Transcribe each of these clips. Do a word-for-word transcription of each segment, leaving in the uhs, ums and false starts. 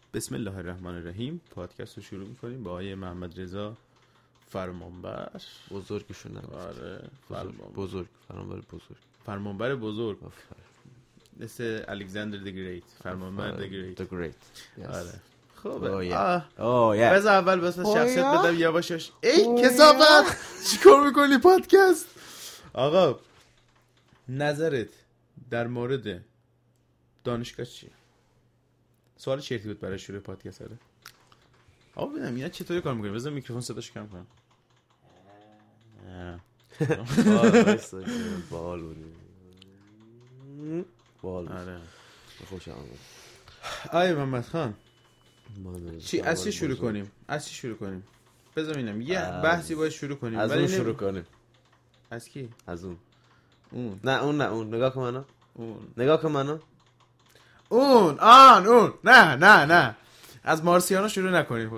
بسم الله الرحمن الرحیم. پادکست رو شروع میکنیم با آقای محمد رضا فرمانبر. بزرگشون نگفت. آره بزرگ بزرگ فرمانبر بزرگ فرمانبر بزرگ مثل الکساندر دی گریت. فرمانبر دی گریت دی گریت. آره خب اوه یا بذار اول بس شخصیت بدم یواشاش. ای کثافت چیکار میکنی پادکست؟ آقا نظرت در مورد دانشگاه چیه؟ سوال چرتی بود برای شروع پادکست. آره آقا ببینم اینا چطوری کار میکنه. بذار میکروفون صداش کم کنم. بال بال آره خوشم اومد. آی محمد خان چی از چی شروع کنیم؟ از چی شروع کنیم؟ بذار ببینم یه بحثی باید شروع کنیم. از اون شروع کنیم. از کی؟ از اون. اون نه اون نه اون نگاه کن منو. اون نگاه کن منو. اون آن اون نه نه نه از مارسیانا شروع نکنیم.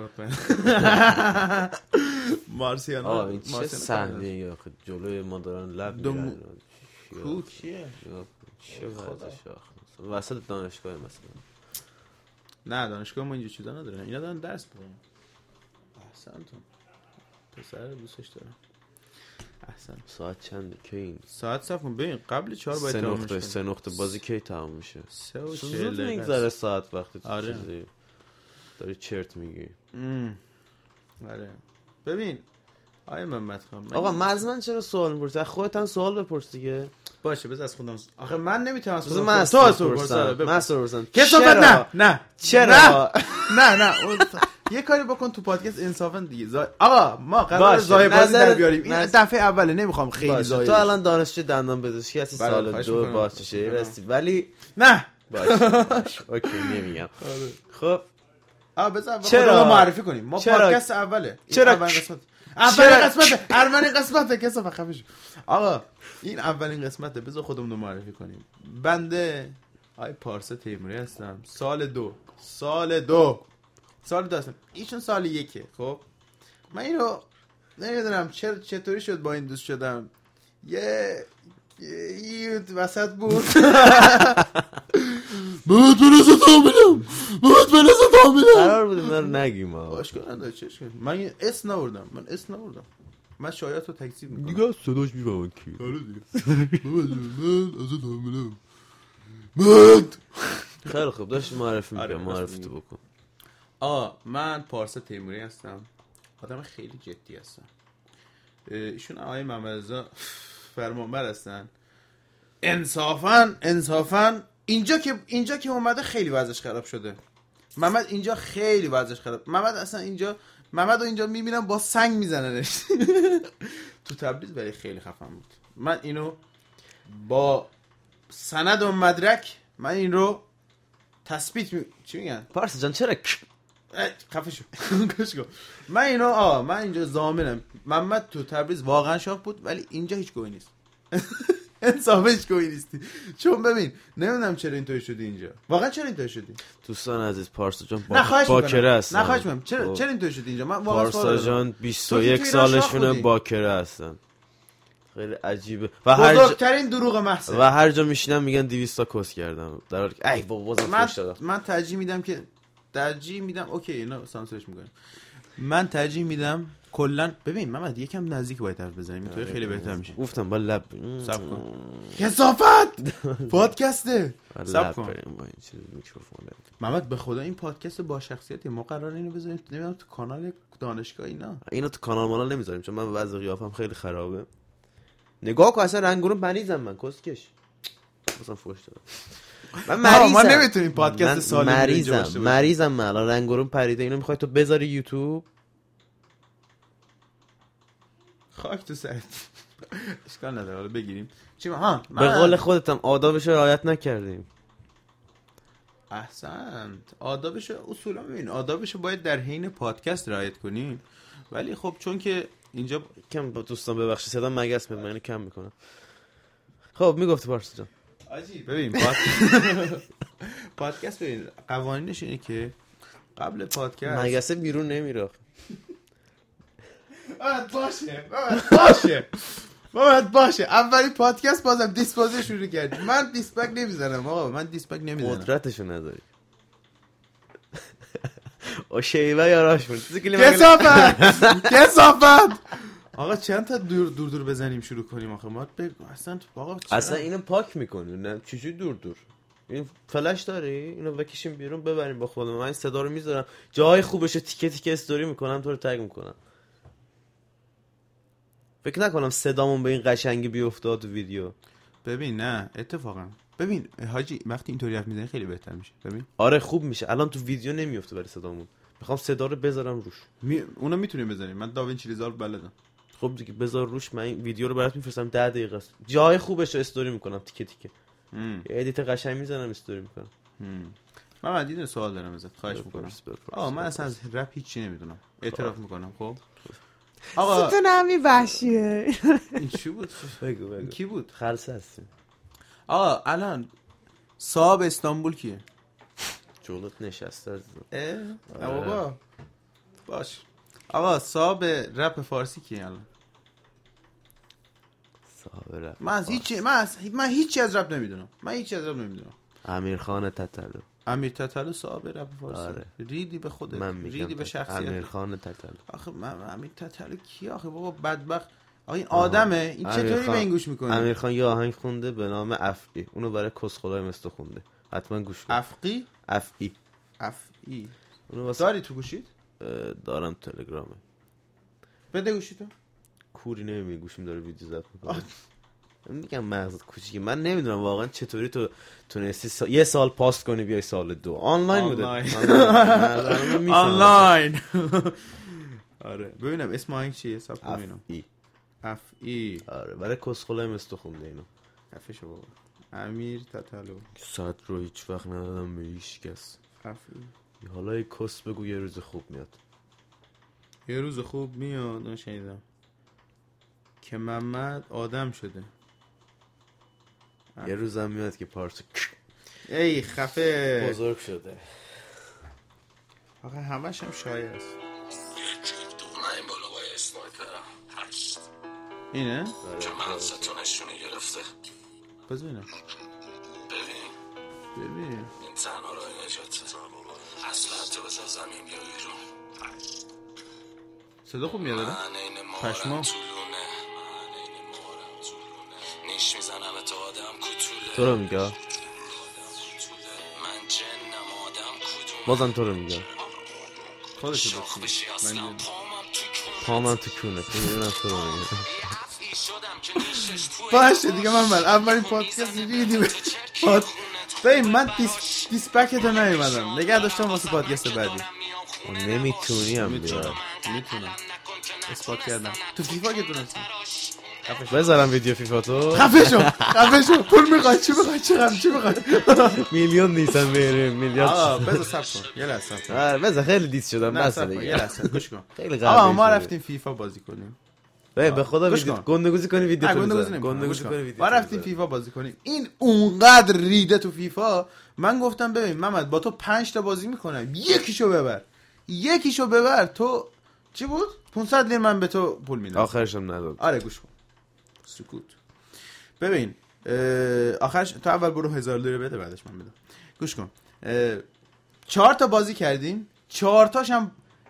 مارسیانا آه این چه صحنه یا جلوی ما دارن لب میرن. کو کیه؟ چه وضعشه وسط دانشگاه مثلا؟ نه دانشگاه ما اینجا چیزا ندارن. اینا دارن درس میخونن. احسنتون پسر دوستش دارم. احسن. ساعت چنده کی این؟ ساعت صف کن ببین قبل چهار باید سه تمام نقطه میشه. سه نقطه بازی کی تمام میشه؟ سه و چهل زود دقیقه میگذره ساعت وقتی تو آره. چیزی داری چرت میگی. آره ببین آیه محمد خان آقا من از من چرا سوال میپرسی؟ از خودت هم سوال بپرس دیگه. باشه بذار از خودم. آخه من نمیتونم از خودم من تو از تو بپرسم. من سوال بپرسم. کسافت نه نه چرا؟ نه نه اون یه کاری بکن تو پادکست انصافا دیگه. زا... آقا ما قرار زای بازی در بیاریم. این نظر... دفعه اوله نمیخوام خیلی زای. تو الان دانشجو دندان پزشکی هستی سال دو باشه رسیدی ولی نه باشه اوکی نمیگم. خب آ بذار چرا معرفی کنیم ما پادکست اوله. چرا اولین قسمت اولین قسمت اولین قسمت کسا خفش. آقا این اولین قسمته بذار خودمون رو معرفی کنیم. بنده آی پارسا تیموری هستم. سال دو سال دو سال دو هستم. ایشون سال یکه. خب من اینو نمیدونم چرا چطوری شد با این دوست شدم. یه یه وسط بود. بود بنازه تامیدم بود بنازه تامیدم قرار بود من رو نگیم. باشگاه نداره چش کنیم. من یه اسم نوردم. من اسم نوردم. من شایعات رو تکذیب میکنم دیگه صداش میفهمن کی. آره دیگه من از تامیدم بود. خیلی خوب داشت معرفی آره میکنم. معرفی تو بکن. آه من پارسا تیموری هستم. آدم خیلی جدی هستم. ایشون آقای محمد رضا فرمانبر هستن. انصافا انصافا اینجا که اینجا که اومده خیلی وضعش خراب شده. محمد اینجا خیلی وضعش خراب. محمد اصلا اینجا محمد رو اینجا میبینم با سنگ میزننش. تو تبریز ولی خیلی خفن بود. من اینو با سند و مدرک من این رو تثبیت می... چی میگن؟ پارسا جان چرا خفه شو. من اینو آ من اینجا ضامنم محمد تو تبریز واقعا شاخ بود ولی اینجا هیچ گویی نیست. انصافش گویی نیستی. چون ببین نمیدونم چرا اینطوری شدی اینجا. واقعا چرا اینطوری شدی؟ دوستان عزیز پارسا جان با... باکره هستن. نه خواهش می‌کنم. چرا چرا اینطوری شدی اینجا؟ من واقعا پارسا جان بیست و یک سالشونه باکره هستن. خیلی عجیبه و هر بزرگترین دروغ محض و هر جا میشینم میگن دویست تا کس کردم در حالی که ای بابا بازم من... فوش دادم. من ترجیح میدم که ترجیح میدم اوکی اینا سانسورش میکنم. من ترجیح میدم کلا ببین محمد یکم نزدیک باید حرف بزنیم اینطوری خیلی بهتر میشه. گفتم با لب صبر کن. کثافت پادکسته. صبر کن. با این چیز میکروفون. محمد به خدا این پادکست با شخصیتی ما قراره اینو بذاریم نمیدونم تو کانال دانشگاه اینا. اینو تو کانال مالا نمیذاریم چون من وضع قیافم خیلی خرابه. نگاه کن اصلا رنگونو مریضم من کسکش. مثلا فوش دادم. من مریضم. ما نمیتونیم پادکست سالم اینجا باشه. مریضم. مریضم من الان رنگورم پریده. اینو میخوای تو بذاری یوتیوب؟ خاک تو سرت. اشکال نداره حالا بگیریم. چی ها؟ به قول خودتم آدابش رو رعایت نکردیم. احسنت. آدابش اصولا ببین آدابش باید در حین پادکست رعایت کنیم. ولی خب چون که اینجا کم دوستان ببخشید صدا مگس میاد من اینو کم میکنم. خب میگفتی پارسا جان. آجی ببین پادکست ببین قوانینش اینه که قبل پادکست مگسه بیرون نمیره. باید باشه باشه باید باشه اولی پادکست بازم دیسپوزه شروع کردی. من دیسپک نمیزنم آقا. من دیسپک نمیزنم. قدرتشو نداری. او شیوه یاراش بود کسافت کسافت. آقا چند تا دور دور دور بزنیم شروع کنیم آخه ما بگو اصلا آقا اصلا اینو پاک میکنی نه چجوری دور دور این فلش داری اینو بکشیم بیرون ببریم با خودم. من این صدا رو میذارم جای خوبشه تیکه تیکه استوری میکنم تو رو تگ میکنم. فکر نکنم صدامون به این قشنگی بیافتاد تو ویدیو. ببین نه اتفاقا ببین حاجی وقتی اینطوری حرف میزنی خیلی بهتر میشه. ببین آره خوب میشه. الان تو ویدیو نمیافته برای صدامون. میخوام صدا رو بذارم روش. می... اونو میتونیم بذاریم. من داوینچی ریزالو بلدم. خب دیگه بذار روش. من این ویدیو رو برات میفرستم ده دقیقه است. جای خوبش رو استوری میکنم تیکه تیکه. یه ادیت قشنگ میزنم استوری میکنم. من مدید سوال دارم ازت خواهش میکنم. آقا من اصلا از رپ هیچی نمیدونم. اعتراف میکنم. خب آقا تو نمی باشیه. این چی بود؟ بگو بگو. کی بود؟ خلصه هستیم. آقا الان صاحب استانبول کیه؟ جولت نشسته از اه بابا باش. آقا صاحب رپ فارسی کیه الان؟ صاحب رپ من از هیچ من از من هیچی از رپ نمیدونم. من هیچی از رپ نمیدونم. امیرخان تتلو. امیر تتلو صاحب رپ فارسی. آره. ریدی به خودت. من میگم ریدی به شخصیت. امیرخان تتلو. آخه من امیر تتلو کی آخه بابا بدبخت. آقا این آدمه این چطوری به این گوش میکنه؟ امیرخان یه آهنگ خونده به نام افقی. اونو برای کسخلای مستو خونده. حتما گوش کن. افقی؟ افقی. افقی. اونو واسه داری تو گوشیت؟ دارم تلگرامه. بده گوشیتو. کوری نمیبینی گوشیم داره ویدیو ضبط میکنه. میگم مغزت کوچیکه. من نمیدونم واقعا چطوری تو تونستی سا... یه سال پاست کنی بیای سال دو آنلاین بوده. آنلاین. آره ببینم اسم آهنگ چیه؟ حساب کنم. ای اف ای. آره برای کسخلای مستو خونده اینو. افشو بابا. امیر تتلو. صد رو هیچ وقت ندادم به هیچ کس. اف ای. حالا یه کس بگو یه روز خوب میاد. یه روز خوب میاد. نشنیدم که محمد آدم شده. یه روزم میاد که پارچه ای خفه بزرگ شده. آخه همش هم شایع است. این بالا با اسنایپرم هشت اینه؟ که مغزتو نشونه گرفته. بذار اینه ببین ببین این تنها راه نجاته. اصلا تو بزن زمین بیا بیرون. صدا خوب میاد داره؟ من این مارم پشما طولونه. من این مارم طولونه. نیش میزنم تو آدم کتوله. تو رو میگه من جنم آدم کدوم. بازم تو رو میگه خودشو شاخ بکنی. بشی اصلا من پامم تو کونه. تو میدونم تو رو میگه. باشه دیگه من من اولین پادکست ریدی به پاد ببین من دیس دیسپکت رو نیومدم نگه داشتم واسه پادکست بعدی. نمیتونی هم بیار. میتونم اثبات کردم تو فیفا که تونستی. بذارم ویدیو فیفا تو. خفه شو خفه شو. پول میخوای چی میخوای چی هم چی میخوای؟ میلیون نیستن بریم میلیارد. آقا بذار صبر کن یه لحظه صبر کن. آره بذار خیلی دیس شدم بس یه دیگه. لحظه گوش کن. خیلی قوی. آقا ما رفتیم فیفا بازی کنیم. به خدا ویدیو گندگوزی کنی ویدیو تو بزن. گندگوزی کنی ویدیو. ما رفتیم فیفا بازی کنیم. این اونقدر ریده تو فیفا من گفتم ببین محمد با تو پنج تا بازی میکنم یکیشو ببر یکیشو ببر. تو چی بود؟ پانصد لیر من به تو پول میدم. آخرش هم نداد. آره گوش کن. سکوت. ببین آخرش تو اول برو هزار لیر بده بعدش من بدم. گوش کن. چهار تا بازی کردیم. چهار تاش هم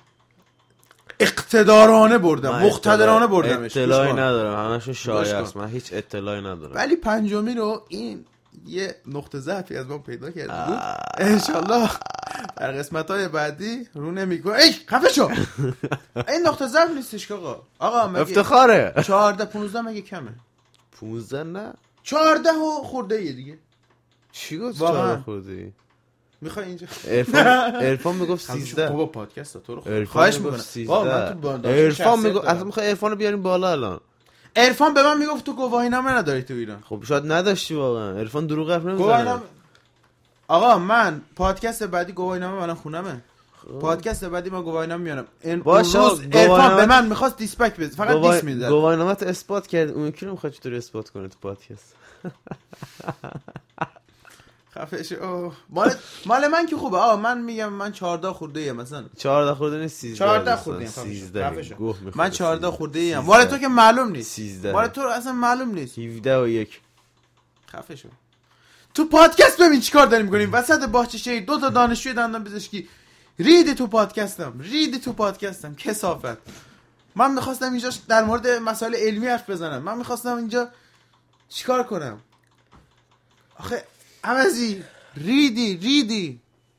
اقتدارانه بردم مقتدرانه بردمش. اطلاعی ندارم همشون شایع است. من هیچ اطلاعی ندارم. ولی پنجمی رو این یه نقطه ضعفی از ما پیدا کرده بود. انشالله در قسمت‌های بعدی رو نمی‌کنه. ای خفه شو. این نقطه ضعف نیستش که آقا. آقا مگه افتخاره. چهارده پانزده مگه کمه؟ پانزده نه. چهارده و خورده یه دیگه. چی گفت چهارده خورده؟ میخوای اینجا عرفان عرفان میگفت سیزده. بابا پادکست تو رو خواهش میکنم. بابا من تو عرفان میگفت اصلا میخوای عرفانو بیاریم بالا الان. عرفان به من میگفت تو گواهی نامه نداری تو ایران. خب شاید نداشتی واقعا. عرفان دروغ حرف نمیزنه. آقا من پادکست بعدی گواهی نامه الان خونمه. پادکست بعدی ما گواهی نامه میارم. این روز عرفان به من میخواست دیسپک بده فقط گواه... دیس میداد. گواهی نامه تو اثبات کرد. اون کی رو میخواد چطوری اثبات کنه تو پادکست؟ خفه شو. مال مال من که خوبه. آقا من میگم من چهارده خورده ایم مثلا. چهارده خورده نیست سیزده. چهارده خورده ایم. سیزده. من چهارده خورده ایم. مال تو که معلوم نیست. سیزده. مال تو اصلا معلوم نیست. هفده و یک. خفه شو. تو پادکست ببین چیکار داریم می‌کنیم. وسط باغچه دو تا دانشجوی دندان پزشکی ریدی تو پادکستم، ریدی تو پادکستم کثافت. من میخواستم اینجا در مورد مسائل علمی حرف بزنم، من میخواستم اینجا چیکار کنم؟ آخه عوضی ریدی ریدی.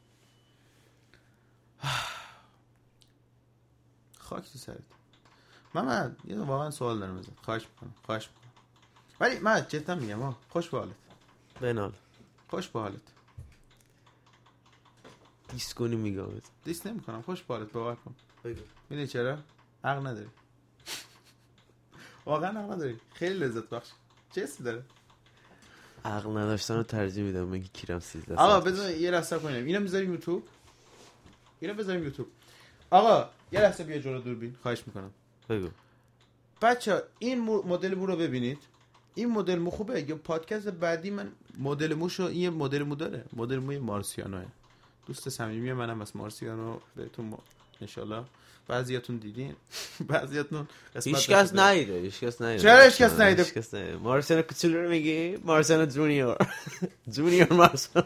خاک تو سرت. محمد یه واقعا سوال دارم ازت، خواهش میکنم خواهش میکنم ولی من جدا میگم ها، خوش به حالت. بنال خوش به حالت. دیس کنی میگم دیس نمیکنم، خوش به حالت، باور کن. بگو. میدونی چرا؟ عقل نداری. واقعا عقل نداری، خیلی لذت بخش. چه حسی داره؟ عقل نداشتن رو ترجیح میدم من که کیرم سیزده. آقا بذار یه لحظه کنیم، اینو میذاریم یوتیوب، اینو بذاریم یوتیوب. آقا یه لحظه بیا جلو دوربین، خواهش میکنم. بگو. بچا این مدل مو رو ببینید، این مدل مو خوبه. یا پادکست بعدی من مدل موشو، این مدل مو داره، مدل موی مارسیانوه. دوست صمیمی منم از مارسیانو، بهتون ان شاءالله بعضیاتون دیدین بعضیاتون هیچ کس ندیده، هیچ کس ندیده. چرا هیچ کس ندیده؟ هیچ کس ندیده. مارسیانو کوچولو رو میگی؟ مارسیانو جونیور. جونیور مارسیانو.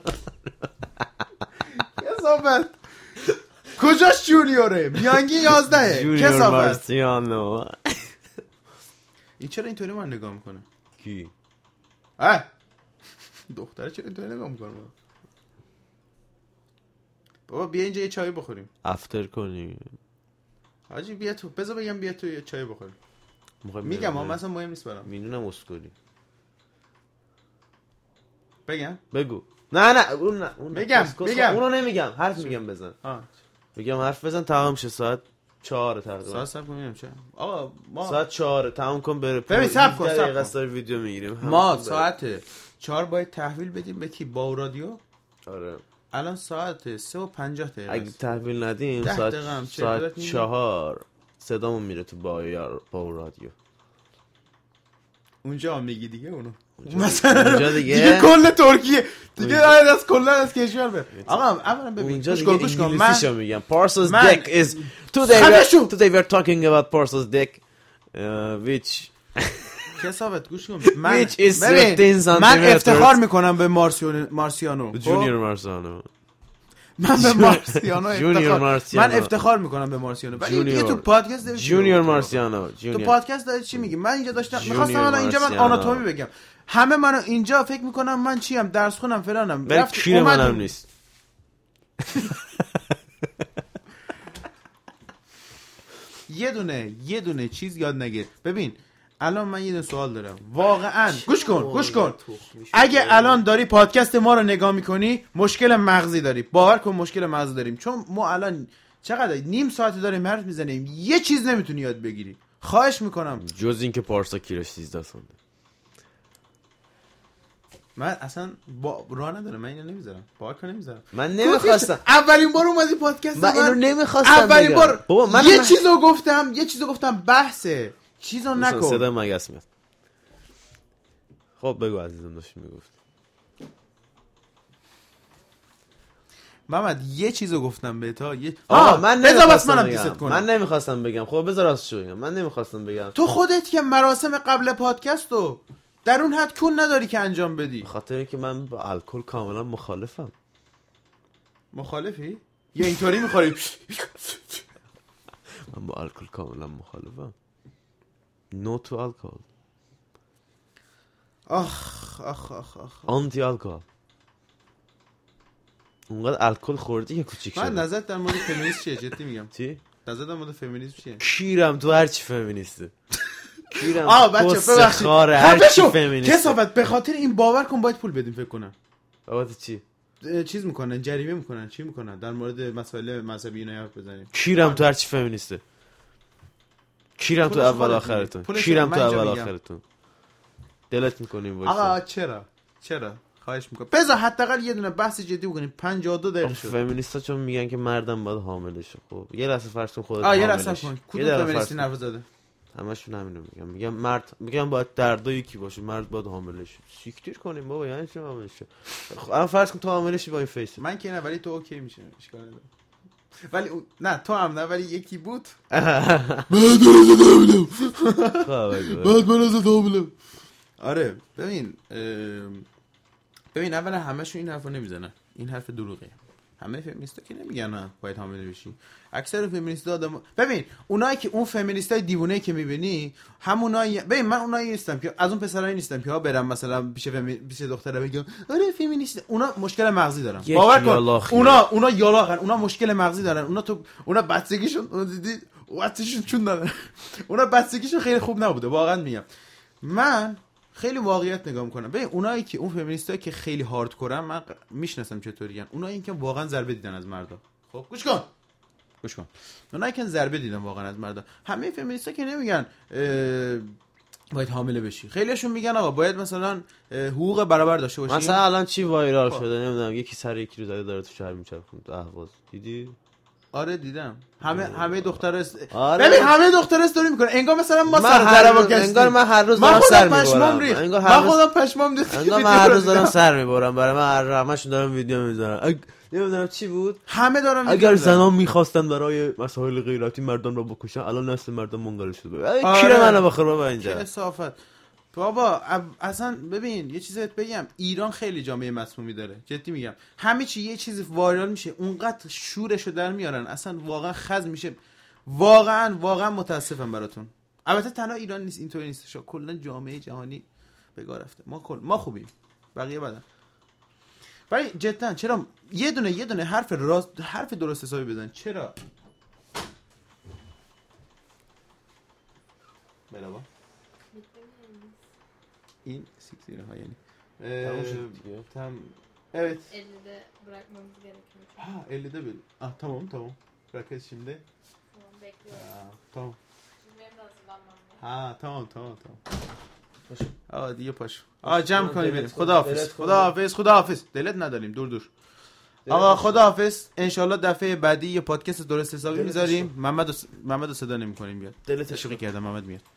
کثافت. کجاش جونیوره؟ میانگین یازده. جونیور مارسیانو. این چرا اینطوری من نگاه میکنه؟ کی؟ اه دختره چرا اینطوری نگاه میکنه؟ بابا بیا اینجا یه چای بخوریم، افتر کنیم. حاجی بیا تو، بذار بگم بیا تو یه چای بخوریم. میگم ما مثلا مهم نیست برام. میدونم اسکولی. بگم؟ بگو. نه نه اون نه اون بگم بگم اونو نمیگم، حرف میگم بزن. آه بگم حرف بزن تمام شه. ساعت چهار تقریبا. ساعت صبر کنیم چه؟ آقا ما ساعت چهار تمام کن بره. ببین صبر کن صبر کن. ویدیو میگیریم. ما ساعت چهار باید تحویل بدیم به کی؟ با رادیو. آره. الان ساعت سه و پنجاه دقیقه. اگه تحویل ندیم ساعت ساعت چهار صدامون میره تو با یار با رادیو. اونجا میگی دیگه اونو. مثلا اونجا دیگه دیگه کل ترکیه دیگه از کلا از کشور به. آقا اولا ببین گوش کن گوش کن من میگم Parcel's Dick is today today we are talking about Parcel's Dick uh, which کسابت گوش کن من من افتخار میکنم به مارسیانو مارسیانو جونیور مارسیانو من به مارسیانو افتخار من افتخار میکنم به مارسیانو. ولی یه تو پادکست جونیور مارسیانو تو پادکست داری چی میگی؟ من اینجا داشتم میخواستم الان اینجا من آناتومی بگم، همه منو اینجا فکر میکنم من چیم، درس خونم فلانم، رفت کیر منم نیست. یه دونه یه دونه چیز یاد نگیر. ببین الان من یه دونه سوال دارم واقعا، گوش کن گوش کن. اگه الان داری پادکست ما رو نگاه میکنی مشکل مغزی داری، باور کن مشکل مغزی داریم، چون ما الان چقدر نیم ساعت داریم حرف میزنیم یه چیز نمیتونی یاد بگیری. خواهش میکنم جز این که پارسا کیرش سیزده سونده. من اصلا با راه ندارم، من اینو نمیذارم، باور کن نمیذارم. من نمیخواستم اولین بار اومدی پادکست من اینو نمیخواستم اولین بار بابا من یه چیزو گفتم یه چیزو گفتم بحثه چیزو نکن. صدا مگس میاد. خب بگو عزیزم داشتی میگفت. محمد یه چیزو گفتم به تا یه آقا من نمیخواستم بگم من نمیخواستم بگم. خب بذار راستش بگم من نمیخواستم بگم. تو خودت که مراسم قبل پادکستو در اون حد کون نداری که انجام بدی. خاطر اینکه من با الکل کاملا مخالفم. مخالفی؟ یا اینطوری میخوری؟ من با الکل کاملا مخالفم. نو تو الکل. آخ آخ آخ آخ آنتی الکل. اونقدر الکل خوردی که کوچیک شد. من نظرت در مورد فمینیسم چیه؟ جدی میگم. چی؟ نظرت در مورد فمینیسم چیه؟ کیرم تو هر چی فمینیسته. کیرم. آ بچه ببخشید. هر چی فمینیسته. کسافت به خاطر این باور کن باید پول بدیم فکر کنم. بابت چی؟ چیز میکنن جریمه میکنن چی میکنن در مورد مسائل مذهبی اینا حرف بزنیم. کیرم تو هر چی فمینیسته. کیرم تو اول آخرتون. کیرم تو اول آخرتون. دلت میکنیم وایسا. آقا چرا؟ چرا؟ خواهش میکنم. بذار حداقل یه دونه بحث جدی بکنیم. پنجاه و دو دقیقه شد. فمینیستا چون میگن که مردم باید حامله شه. خب یه لحظه فرض کن خودت حامله. آ یه لحظه کن. کدوم فمینیستی نرو زده؟ همشون همینو میگن. میگن مرد میگن باید دردا یکی باشه، مرد باید حامله شه. سیکتیر کنیم بابا، یعنی چی حامله شه؟ الان فرض کن تو حامله شی با این فیس. من که نه ولی تو اوکی میشه. اشکال نداره. ولی نه تو هم نه ولی یکی بود. بعد من از حامله. آره ببین ببین اولا همشون این حرفو نمیزنن. این حرف دروغه. همه فمینیستا که نمیگن نه باید حامله بشی. اکثر فمینیستا آدم ببین اونایی که اون فمینیستای دیوونه که میبینی همونایی ببین من اونایی نیستم که از اون پسرایی نیستم که ها برم مثلا پیش فمی... پیش دختره بگم آره فمینیست. اونا مشکل مغزی دارن باور کن. اونا اونا یالاخن. اونا مشکل مغزی دارن. اونا تو اونا بچگیشون دیدی وقتشون چون دارن. اونا بچگیشون خیلی خوب نبوده واقعا میگم. من خیلی واقعیت نگاه میکنم. ببین اونایی که اون فمینیستایی که خیلی هاردکورن من میشناسم چطوریان. اونایی که واقعا ضربه دیدن از مردا. خب گوش کن گوش کن اونایی که ضربه دیدن واقعا از مردا. همه فمینیستا که نمیگن باید حامله بشی. خیلیشون میگن آقا باید مثلا حقوق برابر داشته باشی. مثلا الان چی وایرال شده نمیدونم یکی سر یکی رو زده داره تو شهر میچرخونه تو اهواز دیدی؟ آره دیدم. همه همه دخترا است... آره. ببین همه دخترا استوری میکنه انگار مثلا ما سر درو کشیم. انگار من هر روز دارم سر میبرم. انگار من خودم پشمام ریخت. انگار من هر روز دارم سر میبرم. برای من هر همشون دارم ویدیو میذارم. اگ... نمیدونم چی بود. همه دارن اگر زنان میخواستن برای مسائل غیرتی مردان رو بکشن الان نسل مردان منقرض شده. ای آره. کیره منو بخور بابا اینجا. کثافت. بابا اصلا ببین یه چیزی بگم ایران خیلی جامعه مسمومی داره جدی میگم. همه چی یه چیزی وایرال میشه اونقدر شورشو در میارن اصلا واقعا خز میشه. واقعا واقعا متاسفم براتون. البته تنها ایران نیست اینطوری نیست. کلا جامعه جهانی بگاه رفته. ما کل ما خوبیم بقیه بدن. ولی جدا چرا یه دونه یه دونه حرف راست حرف درست حسابی بزن. چرا بلابا این سیکسیره ها یعنی تموم شد دیگه. تم evet ellide bırakmamız gerekiyor. ha ellide bil ah tamam tamam bırakırız şimdi Tamam bekliyorum. ha, tamam Şimdi benim de hazırlanmam lazım. ha tamam tamam tamam باشه. آقا دیگه پاشو آقا جمع کنیم بریم. دلت کن. خداحافظ دلت کن. خداحافظ خداحافظ دلت نداریم دور دور آقا خداحافظ انشالله دفعه بعدی یه پادکست درست حسابی دلت میذاریم. محمد محمد رو صدا نمی‌کنیم بیاد. دلت تشویق کردم محمد میاد.